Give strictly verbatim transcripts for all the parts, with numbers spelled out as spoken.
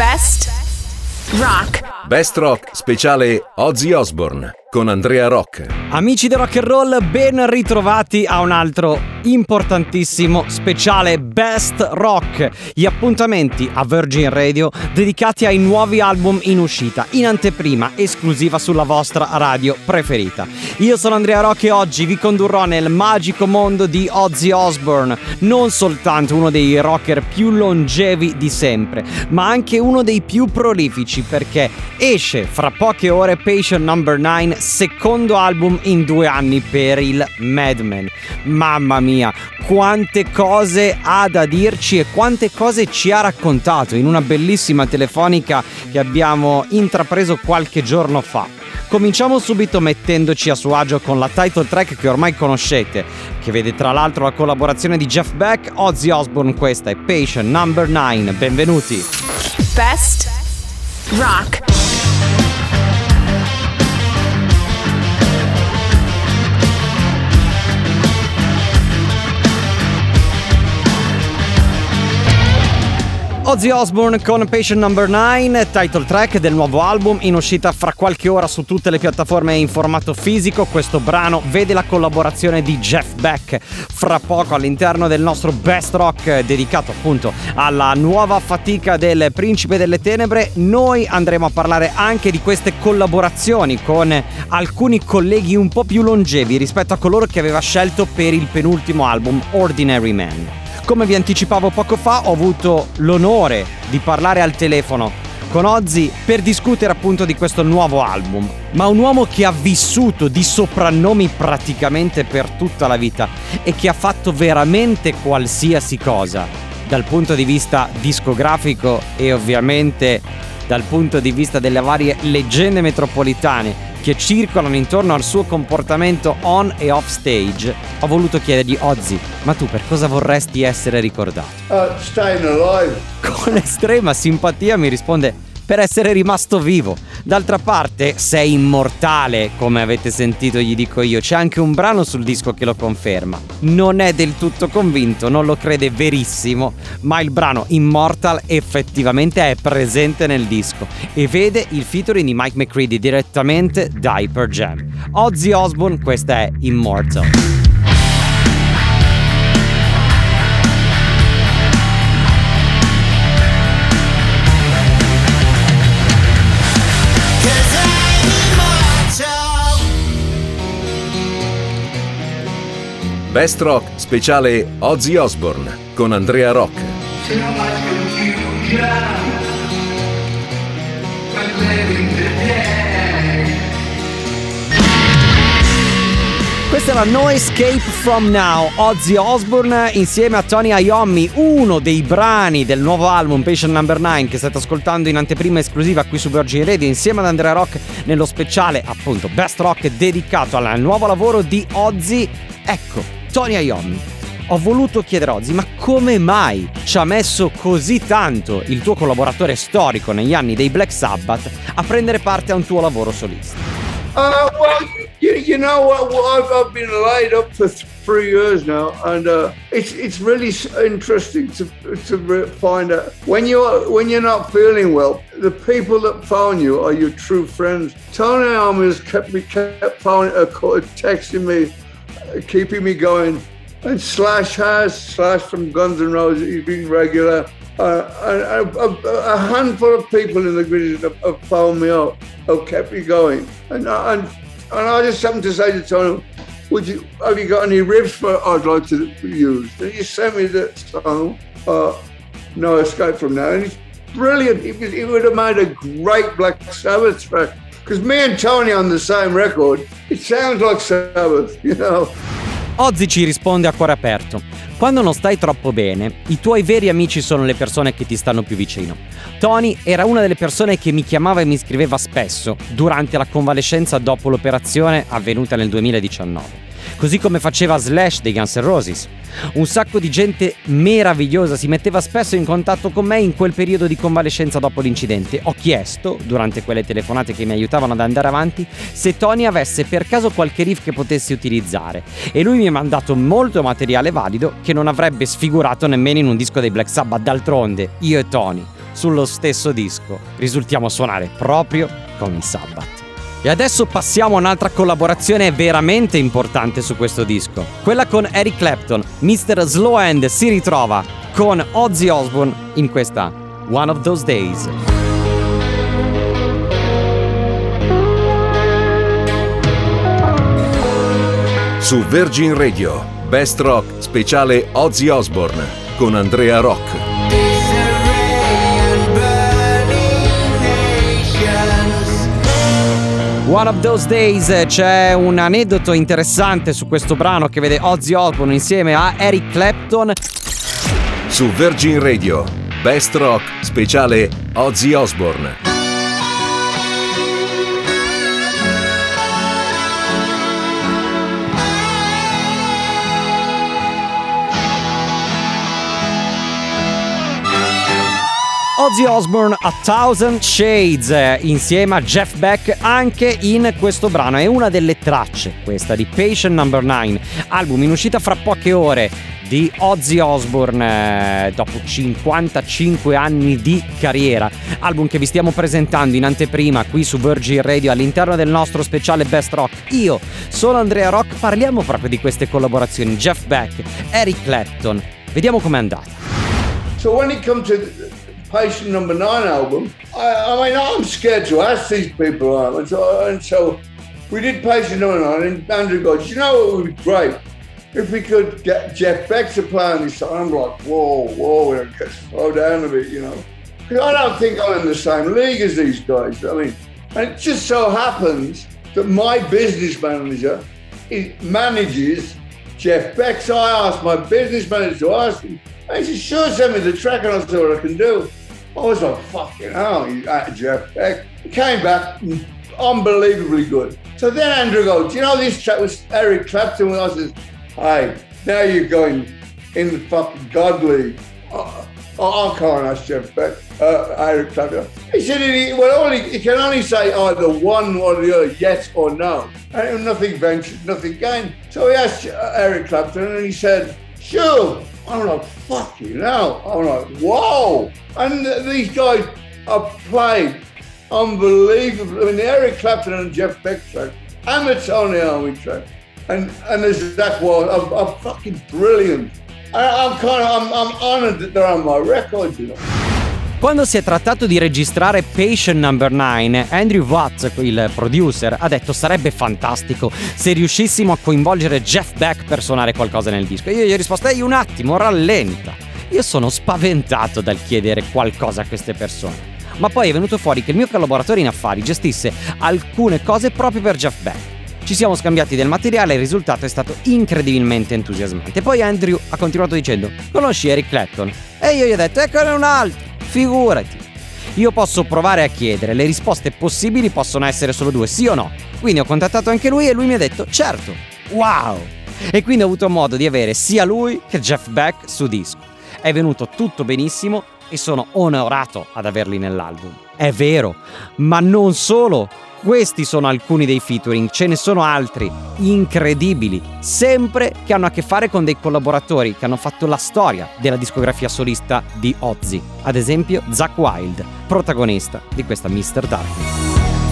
Best Rock. Best Rock speciale Ozzy Osbourne con Andrea Rock. Amici del rock and roll, ben ritrovati a un altro importantissimo speciale Best Rock, gli appuntamenti a Virgin Radio dedicati ai nuovi album in uscita, in anteprima esclusiva sulla vostra radio preferita. Io sono Andrea Rock e oggi vi condurrò nel magico mondo di Ozzy Osbourne, non soltanto uno dei rocker più longevi di sempre, ma anche uno dei più prolifici, perché esce fra poche ore Patient number nine, secondo album in due anni per il Madman. Mamma mia, quante cose ha da dirci e quante cose ci ha raccontato in una bellissima telefonica che abbiamo intrapreso qualche giorno fa. Cominciamo subito mettendoci a suo agio con la title track che ormai conoscete, che vede tra l'altro la collaborazione di Jeff Beck, Ozzy Osbourne. Questa è Patient number nine. Benvenuti. Best Rock. Ozzy Osbourne con Patient number nine, title track del nuovo album in uscita fra qualche ora su tutte le piattaforme in formato fisico. Questo brano vede la collaborazione di Jeff Beck fra poco all'interno del nostro Best Rock dedicato appunto alla nuova fatica del Principe delle Tenebre. Noi andremo a parlare anche di queste collaborazioni con alcuni colleghi un po' più longevi rispetto a coloro che aveva scelto per il penultimo album Ordinary Man. Come vi anticipavo poco fa, ho avuto l'onore di parlare al telefono con Ozzy per discutere appunto di questo nuovo album, ma un uomo che ha vissuto di soprannomi praticamente per tutta la vita e che ha fatto veramente qualsiasi cosa dal punto di vista discografico e ovviamente dal punto di vista delle varie leggende metropolitane che circolano intorno al suo comportamento on e off stage. Ho voluto chiedergli: Ozzy, ma tu per cosa vorresti essere ricordato? Uh, staying alive. Con estrema simpatia mi risponde: per essere rimasto vivo. D'altra parte sei immortale, come avete sentito gli dico io. C'è anche un brano sul disco che lo conferma. Non è del tutto convinto, non lo crede verissimo, ma il brano Immortal effettivamente è presente nel disco e vede il featuring di Mike McCready direttamente da Pearl Jam. Ozzy Osbourne, questa è Immortal. Best Rock speciale Ozzy Osbourne con Andrea Rock. Questa è la No Escape From Now, Ozzy Osbourne insieme a Tony Iommi, uno dei brani del nuovo album Patient number nine che state ascoltando in anteprima esclusiva qui su Virgin Radio insieme ad Andrea Rock nello speciale appunto Best Rock dedicato al nuovo lavoro di Ozzy. Ecco, Tony Iommi. Ho voluto chiedere a Ozzy, ma come mai ci ha messo così tanto il tuo collaboratore storico negli anni dei Black Sabbath a prendere parte a un tuo lavoro solista? Uh, well, you, you know what? Well, I've, I've been laid up for three years now, and uh, it's it's really interesting to to find out when you're when you're not feeling well. The people that phone you are your true friends. Tony Iommi has kept me kept phoning, uh, texting me, keeping me going, and Slash has Slash from Guns N' Roses. He's been regular. Uh, and a, a, a handful of people in the grid have, have phoned me up, have kept me going, and and and I just happened to say to Tony, "Would you have you got any riffs for I'd like to use?" And he sent me the song, uh, "No Escape From Now," and it's brilliant. It, it would have made a great Black Sabbath track because me and Tony on the same record. It sounds like Sabbath, you know. Ozzy ci risponde a cuore aperto: quando non stai troppo bene, i tuoi veri amici sono le persone che ti stanno più vicino. Tony era una delle persone che mi chiamava e mi scriveva spesso durante la convalescenza dopo l'operazione avvenuta nel duemiladiciannove. Così come faceva Slash dei Guns N' Roses. Un sacco di gente meravigliosa si metteva spesso in contatto con me in quel periodo di convalescenza dopo l'incidente. Ho chiesto, durante quelle telefonate che mi aiutavano ad andare avanti, se Tony avesse per caso qualche riff che potessi utilizzare, e lui mi ha mandato molto materiale valido che non avrebbe sfigurato nemmeno in un disco dei Black Sabbath. D'altronde, io e Tony, sullo stesso disco risultiamo suonare proprio con i Sabbath. E adesso passiamo a un'altra collaborazione veramente importante su questo disco, quella con Eric Clapton. mister Slowhand si ritrova con Ozzy Osbourne in questa One of Those Days. Su Virgin Radio, Best Rock speciale Ozzy Osbourne con Andrea Rock. One of Those Days, c'è un aneddoto interessante su questo brano che vede Ozzy Osbourne insieme a Eric Clapton. Su Virgin Radio, Best Rock speciale Ozzy Osbourne. Ozzy Osbourne A Thousand Shades insieme a Jeff Beck anche in questo brano. È una delle tracce, questa di Patient number nine, album in uscita fra poche ore di Ozzy Osbourne eh, dopo cinquantacinque anni di carriera. Album che vi stiamo presentando in anteprima qui su Virgin Radio all'interno del nostro speciale Best Rock. Io sono Andrea Rock, parliamo proprio di queste collaborazioni, Jeff Beck, Eric Clapton. Vediamo com'è andata. So when it comes to Patient number nine album, I, I mean, I'm scared to ask these people, and so, and so we did Patient number nine, and Andrew goes, you know what would be great? If we could get Jeff Beck to play on this song. I'm like, whoa, whoa, slow down a bit, you know. Because I don't think I'm in the same league as these guys. I mean, and it just so happens that my business manager is, manages Jeff Beck, so I asked my business manager to ask him, and he said, sure, send me the track and I'll see what I can do. I was like, fucking hell, he's at Jeff Beck. He came back, unbelievably good. So then Andrew goes, do you know this track was Eric Clapton? And I said, hey, now you're going in the fucking God League. I, I can't ask Jeff Beck, uh, Eric Clapton. He said, he, well, only, he can only say either one or the other, yes or no. And nothing ventured, nothing gained. So he asked Eric Clapton and he said, sure. I'm like, fucking hell. I'm like, whoa. And these guys are played unbelievably. I mean, the Eric Clapton and Jeff Beck track, and the Tony Iommi track, and and the Zakk Wylde are, are fucking brilliant. I, I'm kind of, I'm, I'm honored that they're on my record, you know. Quando si è trattato di registrare Patient number nine, Andrew Watts, il producer, ha detto sarebbe fantastico se riuscissimo a coinvolgere Jeff Beck per suonare qualcosa nel disco. Io gli ho risposto, ehi un attimo, rallenta. Io sono spaventato dal chiedere qualcosa a queste persone. Ma poi è venuto fuori che il mio collaboratore in affari gestisse alcune cose proprio per Jeff Beck. Ci siamo scambiati del materiale e il risultato è stato incredibilmente entusiasmante. Poi Andrew ha continuato dicendo, conosci Eric Clapton? E io gli ho detto, eccone un altro. Figurati, io posso provare a chiedere, le risposte possibili possono essere solo due, sì o no. Quindi ho contattato anche lui e lui mi ha detto certo, wow. E quindi ho avuto modo di avere sia lui che Jeff Beck su disco. È venuto tutto benissimo e sono onorato ad averli nell'album. È vero, ma non solo. Questi sono alcuni dei featuring, ce ne sono altri incredibili, sempre che hanno a che fare con dei collaboratori che hanno fatto la storia della discografia solista di Ozzy. Ad esempio Zakk Wylde, protagonista di questa mister Darkness.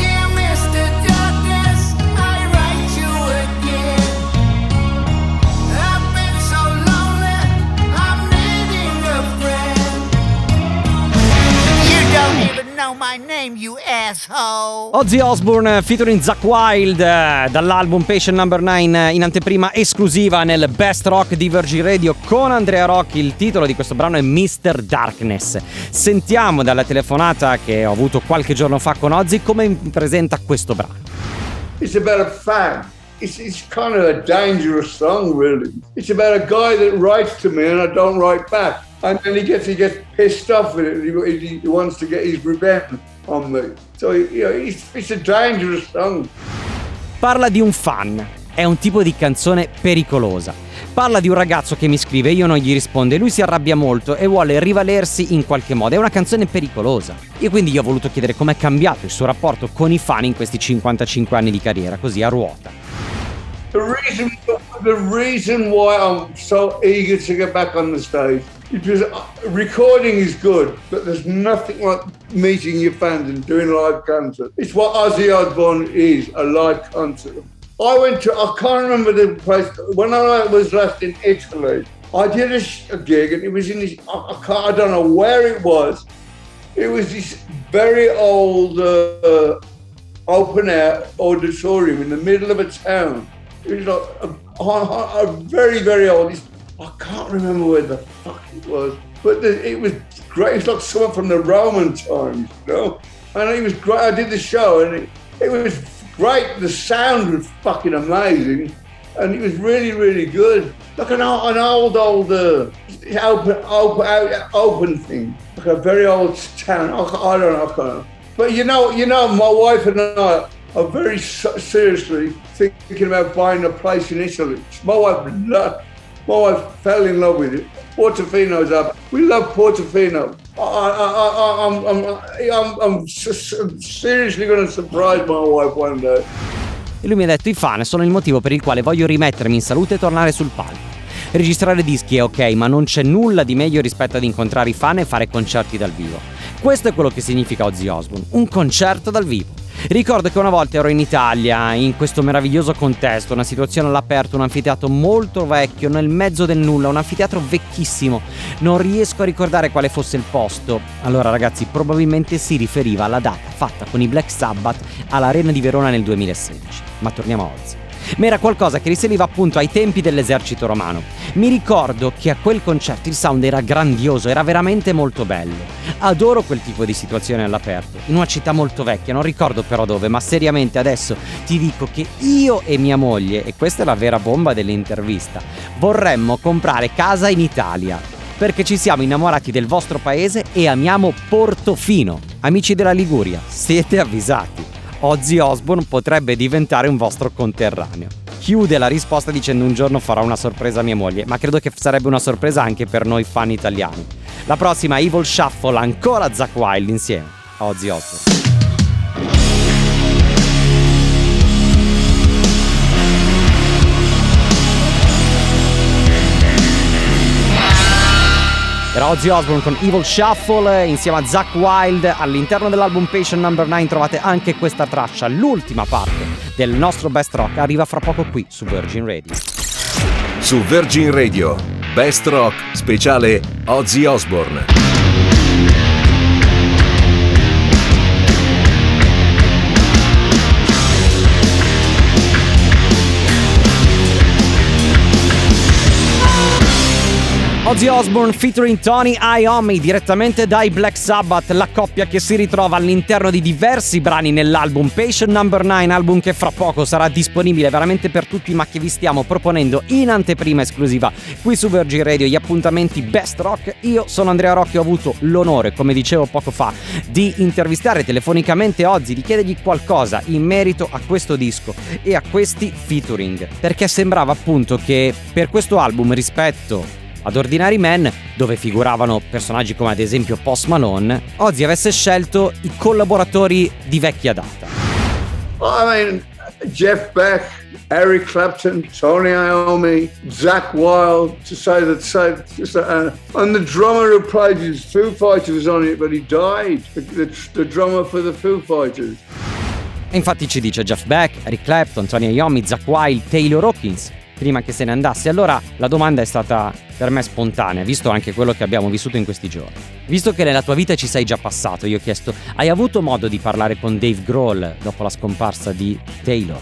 My name, you asshole. Ozzy Osbourne featuring Zakk Wylde dall'album Patient number nine in anteprima esclusiva nel Best Rock di Virgin Radio con Andrea Rock. Il titolo di questo brano è mister Darkness. Sentiamo dalla telefonata che ho avuto qualche giorno fa con Ozzy come presenta questo brano. It's about a fan. It's, it's kind of a dangerous song, really. It's about a guy that writes to me and I don't write back. And then he gets he gets pissed off with it. He, he wants to get his revenge on me. So you know, it's, it's a dangerous song. Parla di un fan. È un tipo di canzone pericolosa. Parla di un ragazzo che mi scrive, io non gli rispondo, lui si arrabbia molto e vuole rivalersi in qualche modo. È una canzone pericolosa. E quindi io ho voluto chiedere com'è cambiato il suo rapporto con i fan in questi cinquantacinque anni di carriera, così a ruota. The reason, the reason why I'm so eager to get back on the stage it was, uh, recording is good, but there's nothing like meeting your fans and doing a live concert. It's what Ozzy Osbourne is, a live concert. I went to, I can't remember the place, when I was last in Italy, I did a, a gig and it was in this, I, I, can't, I don't know where it was. It was this very old uh, open air auditorium in the middle of a town. It was like a, a, a very, very old, I can't remember where the fuck it was, but the, it was great. It's like someone from the Roman times, you know? And it was great. I did the show and it, it was great. The sound was fucking amazing. And it was really, really good. Like an, an old, old uh, open, open, open thing. Like a very old town. I, I don't know, I can't know. But you know, you know, my wife and I are very seriously thinking about buying a place in Italy. My wife loved, my wife fell in love with it. Portofino's up. We love Portofino. I, I, I, I'm, I'm, I'm, I'm seriously going to surprise my wife one day. E lui mi ha detto: i fan sono il motivo per il quale voglio rimettermi in salute e tornare sul palco. Registrare dischi è ok, ma non c'è nulla di meglio rispetto ad incontrare i fan e fare concerti dal vivo. Questo è quello che significa Ozzy Osbourne, un concerto dal vivo. Ricordo che una volta ero in Italia, in questo meraviglioso contesto, una situazione all'aperto, un anfiteatro molto vecchio, nel mezzo del nulla, un anfiteatro vecchissimo. Non riesco a ricordare quale fosse il posto. Allora ragazzi, probabilmente si riferiva alla data fatta con i Black Sabbath all'Arena di Verona nel duemilasedici. Ma torniamo a Ozzy. Ma era qualcosa che risaliva appunto ai tempi dell'esercito romano. Mi ricordo che a quel concerto il sound era grandioso, era veramente molto bello. Adoro quel tipo di situazione all'aperto, in una città molto vecchia, non ricordo però dove, ma seriamente adesso ti dico che io e mia moglie, e questa è la vera bomba dell'intervista, vorremmo comprare casa in Italia, perché ci siamo innamorati del vostro paese e amiamo Portofino. Amici della Liguria, siete avvisati. Ozzy Osbourne potrebbe diventare un vostro conterraneo. Chiude la risposta dicendo: un giorno farò una sorpresa a mia moglie, ma credo che sarebbe una sorpresa anche per noi fan italiani. La prossima, Evil Shuffle, ancora Zakk Wylde insieme a Ozzy Osbourne. Era Ozzy Osbourne con Evil Shuffle insieme a Zakk Wylde. All'interno dell'album Patient number nine trovate anche questa traccia, l'ultima parte del nostro Best Rock, arriva fra poco qui su Virgin Radio. Su Virgin Radio, Best Rock speciale Ozzy Osbourne. Ozzy Osbourne featuring Tony Iommi direttamente dai Black Sabbath, la coppia che si ritrova all'interno di diversi brani nell'album Patient number nine, album che fra poco sarà disponibile veramente per tutti, ma che vi stiamo proponendo in anteprima esclusiva qui su Virgin Radio, gli appuntamenti Best Rock. Io sono Andrea Rocchi, ho avuto l'onore, come dicevo poco fa, di intervistare telefonicamente Ozzy, di chiedergli qualcosa in merito a questo disco e a questi featuring, perché sembrava appunto che per questo album, rispetto ad Ordinary Man, dove figuravano personaggi come ad esempio Post Malone, Ozzy avesse scelto i collaboratori di vecchia data. I mean, Jeff Beck, Eric Clapton, Tony Iommi, Zakk Wylde, to say that, say, just, uh, and the drummer who played his Foo Fighters was on it, but he died, the, the, the drummer for the Foo Fighters. E infatti ci dice Jeff Beck, Eric Clapton, Tony Iommi, Zakk Wylde, Taylor Hawkins, prima che se ne andasse. Allora la domanda è stata per me spontanea, visto anche quello che abbiamo vissuto in questi giorni. Visto che nella tua vita ci sei già passato, io ho chiesto: hai avuto modo di parlare con Dave Grohl dopo la scomparsa di Taylor?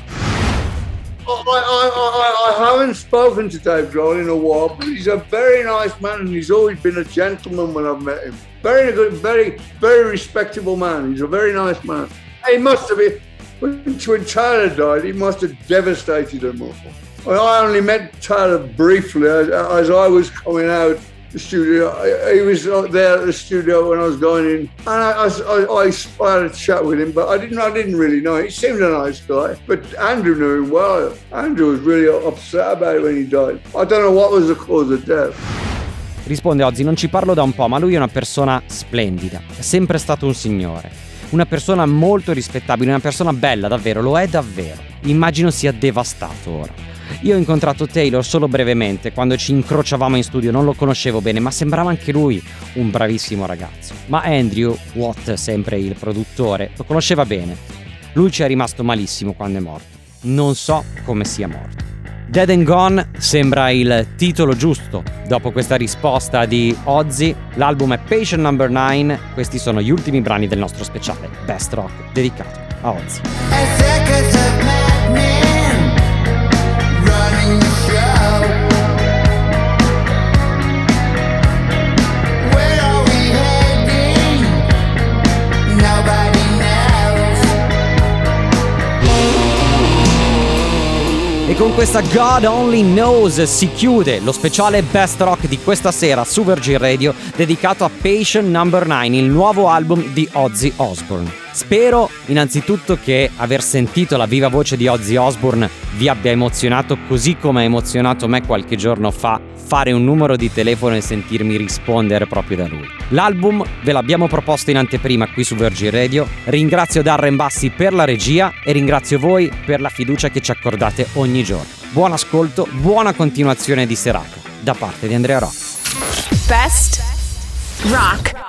I, I, I, I haven't spoken to Dave Grohl in a while, but he's a very nice man and he's always been a gentleman when I've met him. Very good, very, very respectable man. He's a very nice man. He must have been, when Tyler died, he must have devastated him all. Well, I only met Tyler briefly as, as I was coming out the studio. He was there at the studio when I was going in, and I, I, I, I had a chat with him, but I didn't, I didn't really know. He seemed a nice guy, but Andrew knew him well. Andrew was really upset about it when he died. I don't know what was the cause of death. Risponde Ozzy: non ci parlo da un po', ma lui è una persona splendida, è sempre stato un signore, una persona molto rispettabile, una persona bella, davvero, lo è davvero. Immagino sia devastato ora. Io ho incontrato Taylor solo brevemente quando ci incrociavamo in studio, non lo conoscevo bene, ma sembrava anche lui un bravissimo ragazzo. Ma Andrew Watt, sempre il produttore, lo conosceva bene. Lui ci è rimasto malissimo quando è morto. Non so come sia morto. Dead and Gone sembra il titolo giusto. Dopo questa risposta di Ozzy, l'album è Patient number nine. Questi sono gli ultimi brani del nostro speciale Best Rock dedicato a Ozzy. E con questa God Only Knows si chiude lo speciale Best Rock di questa sera su Virgin Radio dedicato a Patient number nine, il nuovo album di Ozzy Osbourne. Spero innanzitutto che aver sentito la viva voce di Ozzy Osbourne vi abbia emozionato così come ha emozionato me qualche giorno fa fare un numero di telefono e sentirmi rispondere proprio da lui. L'album ve l'abbiamo proposto in anteprima qui su Virgin Radio. Ringrazio Darren Bassi per la regia e ringrazio voi per la fiducia che ci accordate ogni giorno. Buon ascolto, buona continuazione di serata da parte di Andrea Rock. Best Rock.